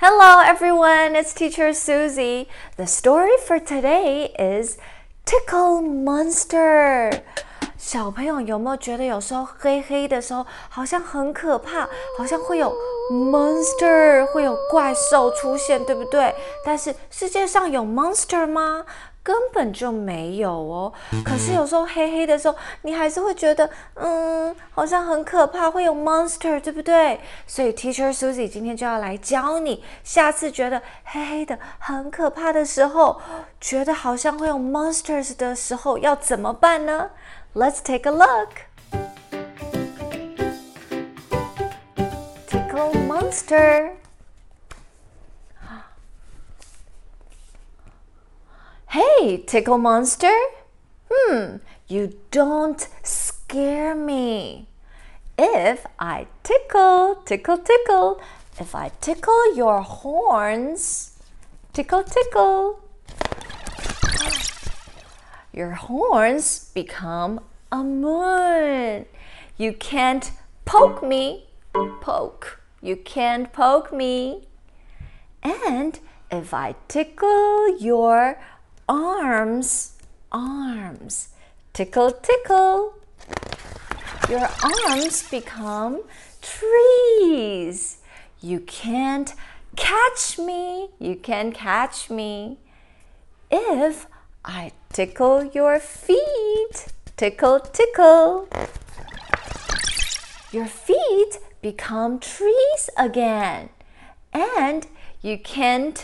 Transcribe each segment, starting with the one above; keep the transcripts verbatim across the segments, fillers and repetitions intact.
Hello everyone, it's Teacher Susie. The story for today is Tickle Monster. 小朋友有没有觉得有时候黑黑的时候好像很可怕，好像会有 monster 会有怪獸出現，對不對？但是世界上有 monster 嗎？根本就沒有哦。可是有時候黑黑的時候，你還是會覺得，嗯，好像很可怕，會有 monster， 對不對？所以 Teacher Susie 今天就要來教你，下次覺得黑黑的很可怕的時候，覺得好像會有 monsters 的時候，要怎麼辦呢？ Let's take a look. Tickle Monster. Hey, Tickle Monster. Hmm, you don't scare me. If I tickle, tickle, tickle, if I tickle your horns, tickle, tickle, your horns become a moon. You can't poke me, poke. You can't poke me. And if I tickle your arms, arms, tickle, tickle, your arms become trees. You can't catch me, you can't catch me. If I tickle your feet, tickle, tickle, your feet become trees again. And you can't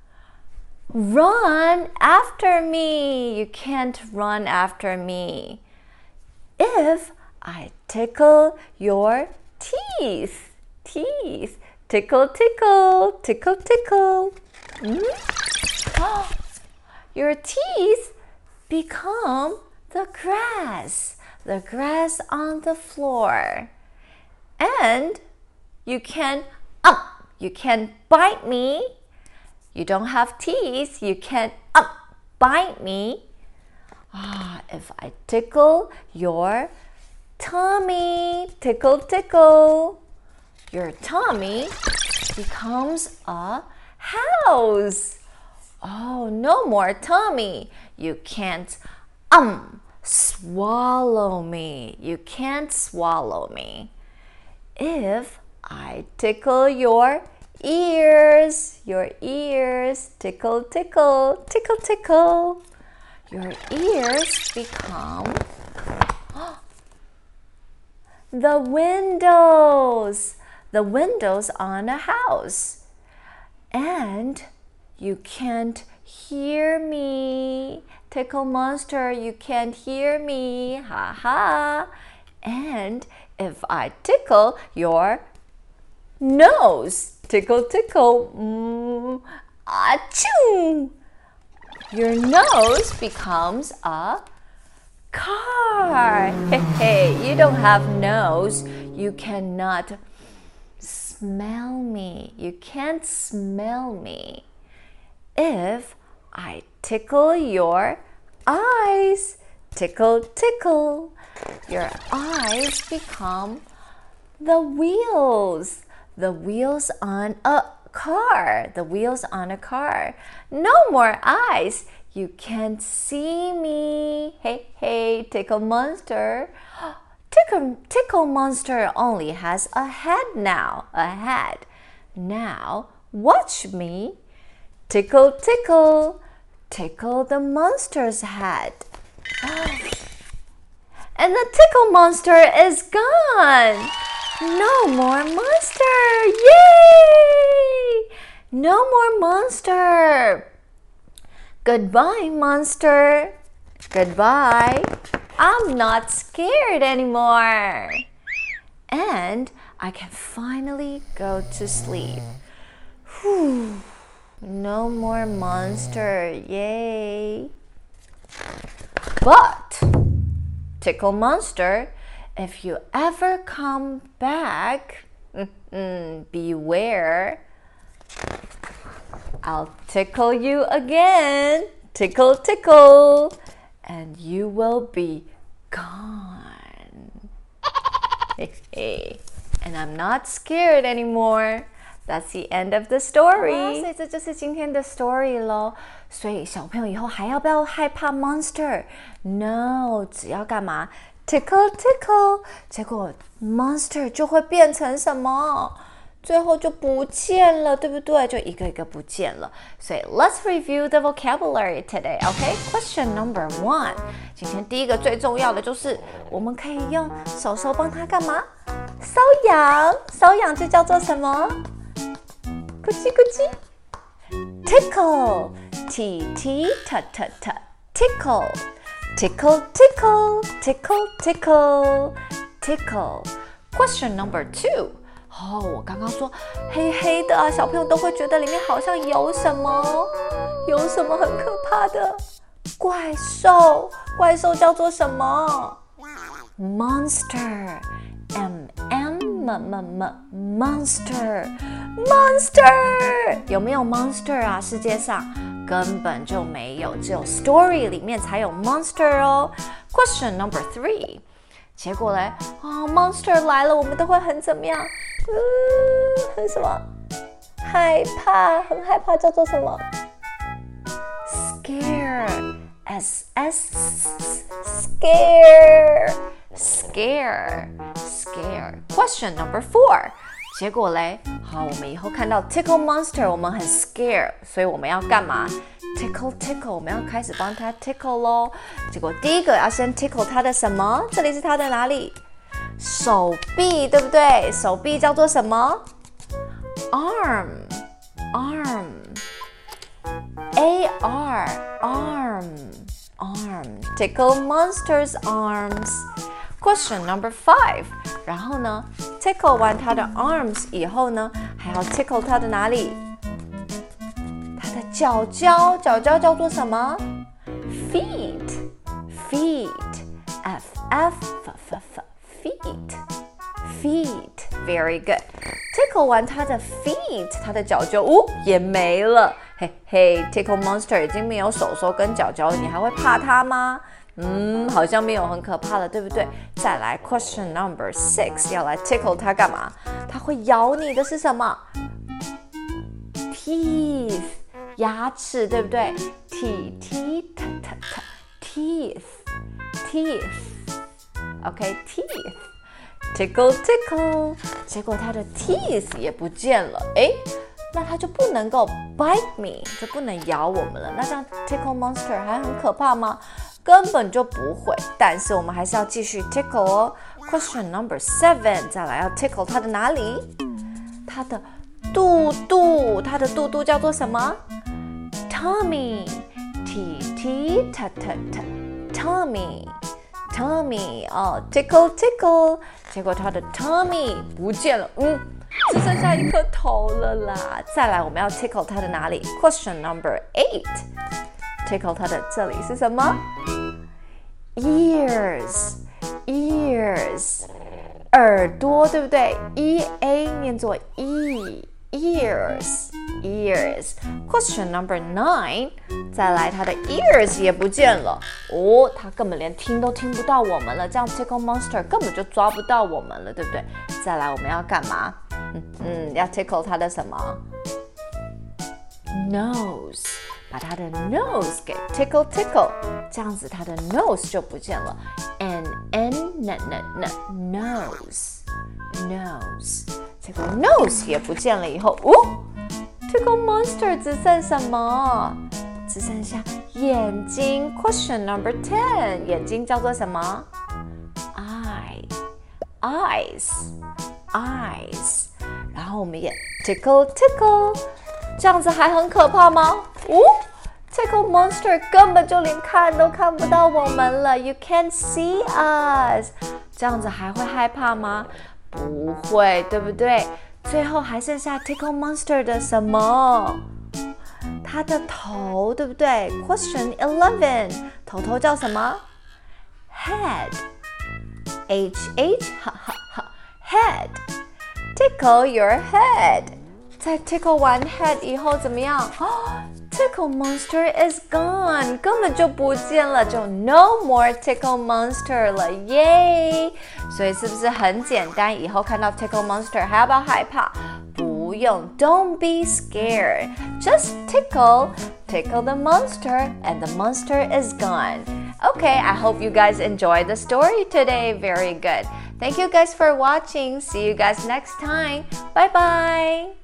run after me. You can't run after me. If I tickle your teeth, teeth, tickle, tickle, tickle, tickle. Mm? Oh, your teeth become the grass, the grass on the floor. And you can, um, you can bite me. You don't have teeth, you can't um, bite me. Ah, if I tickle your tummy, tickle, tickle, your tummy becomes a house. Oh, no more tummy. You can't um swallow me. You can't swallow me. If I tickle your ears, your ears, tickle, tickle, tickle, tickle. Your ears become the windows, the windows on a house. And you can't hear me, Tickle Monster, you can't hear me, ha ha. And if I tickle your nose, tickle, tickle, mm, achoo. Your nose becomes a car. Hey, hey, you don't have nose. You cannot smell me. You can't smell me. If I tickle your eyes, tickle, tickle, your eyes become the wheels. The wheels on a car. The wheels on a car. No more eyes. You can't see me. Hey, hey, Tickle Monster. Tickle, Tickle Monster only has a head now. A head. Now, watch me. Tickle, tickle. Tickle the monster's head. And the Tickle Monster is gone. No more monster! Yay! No more monster! Goodbye, monster. Goodbye. I'm not scared anymore. And I can finally go to sleep. Whew. No more monster. Yay! But, Tickle Monster, if you ever come back, beware. I'll tickle you again. Tickle, tickle. And you will be gone. And I'm not scared anymore. That's the end of the story. 所以這就是今天的 story 咯。所以小朋友以後還要不要害怕 monster? No, 只要幹嘛 ？Tickle tickle， 結果 monster 就會變成什麼？最後就不見了，對不對？就一個一個不見了。所以 let's review the vocabulary today, okay? Question number one. 今天第一個最重要的就是我們可以用手手幫他幹嘛？搔癢，搔癢就叫做什麼？咕嘰咕嘰 Tickle, T T T T T Tickle, tickle, tickle, tickle, tickle, tickle. Question number two. 哦，我剛剛說黑黑的啊，小朋友都會覺得裡面好像有什麼，有什麼很可怕的怪獸。怪獸叫做什麼 ？Monster, M M M M Monster, Monster 有沒有 Monster 啊？世界上根本就沒有，只有 story 裡面才有 Monster 哦。Question number three. 結果嘞，哦 ，Monster 來了，我們都會很怎麼樣？嗯，很什麼？害怕，很害怕，叫做什麼 ？Scare, S S, scare, scare, scare. Question number four. 結果嘞，好，我們以後看到 tickle monster， 我們很 scare， 所以我們要幹嘛？Tickle tickle， 我們要開始幫他 tickle 咯。結果第一個要先 tickle 他的什麼？這裡是他的哪裡？手臂，對不對？手臂叫做什麼 ？Arm, arm, A R, arm, arm. Tickle monster's arms. Question number five. 然後呢 ，tickle 完他的 arms 以後呢，還要 tickle 他的哪裡？腳腳，腳腳叫做什麼 ？Feet, feet, F F F F, feet, feet. Very good. Tickle 完它的 feet， 它的腳就哦也沒了。嘿嘿 ，Tickle Monster 已經沒有手手跟腳腳了，你還會怕它嗎？嗯，好像沒有很可怕了，對不對？再來 ，Question number six， 要來 tickle 它幹嘛？它會咬你的是什麼 ？Teeth。牙齒對不對 ？T T T T T Teeth Teeth OK Teeth Tickle Tickle 結果它的 teeth 也不見了，誒，那它就不能夠 bite me， 就不能咬我們了。那這樣 Tickle Monster 還很可怕嗎？根本就不會，但是我們還是要繼續 tickle 哦。Question number seven， 再來要 tickle 它的哪裡？它的肚肚，它的肚肚叫做什麼？Tummy, T T T T T, Tummy, Tummy, 哦 ，tickle tickle， 結果它的 tummy 不見了，嗯，只剩下一顆頭了啦。再來，我們要 tickle 它的哪裡 ？Question number eight, tickle 它的這裡是什麼 ？Ears, ears， 耳朵對不對 ？E A 念作 E。Ears, ears. Question number nine. 再來，它的 ears 也不見了哦，它根本連聽都聽不到我們了。這樣 Tickle Monster 根本就抓不到我們了，對不對？再來，我們要幹嘛？嗯嗯，要 tickle 它的什麼 ？Nose， 把它的 nose 給 tickle tickle， 這樣子它的 nose 就不見了。N N N N nose nose。結果 nose 也不見了以後，哦 ，Tickle Monster 只剩什麼？只剩下眼睛。Question number ten， 眼睛叫做什麼 ？Eye, eyes, eyes。然後我們也 tickle tickle， 這樣子還很可怕嗎？哦 ，Tickle Monster 根本就連看都看不到我們了 ，You can't see us。這樣子還會害怕嗎？不會，對不對？最後還剩下 Tickle Monster 的什麼？它的頭，對不對 ？Question eleven， 頭頭叫什麼 ？Head，H H， 哈哈哈 ，Head。Tickle your head。在 tickle 完 head 以後怎麼樣？哦 Tickle Monster is gone， 根本就不見了，就 no more Tickle Monster 了，耶！所以是不是很簡單？以後看到 Tickle Monster 還要不要害怕？不用。Don't be scared. Just tickle, tickle the monster, and the monster is gone. Okay, I hope you guys enjoyed the story today. Very good. Thank you guys for watching. See you guys next time. Bye bye.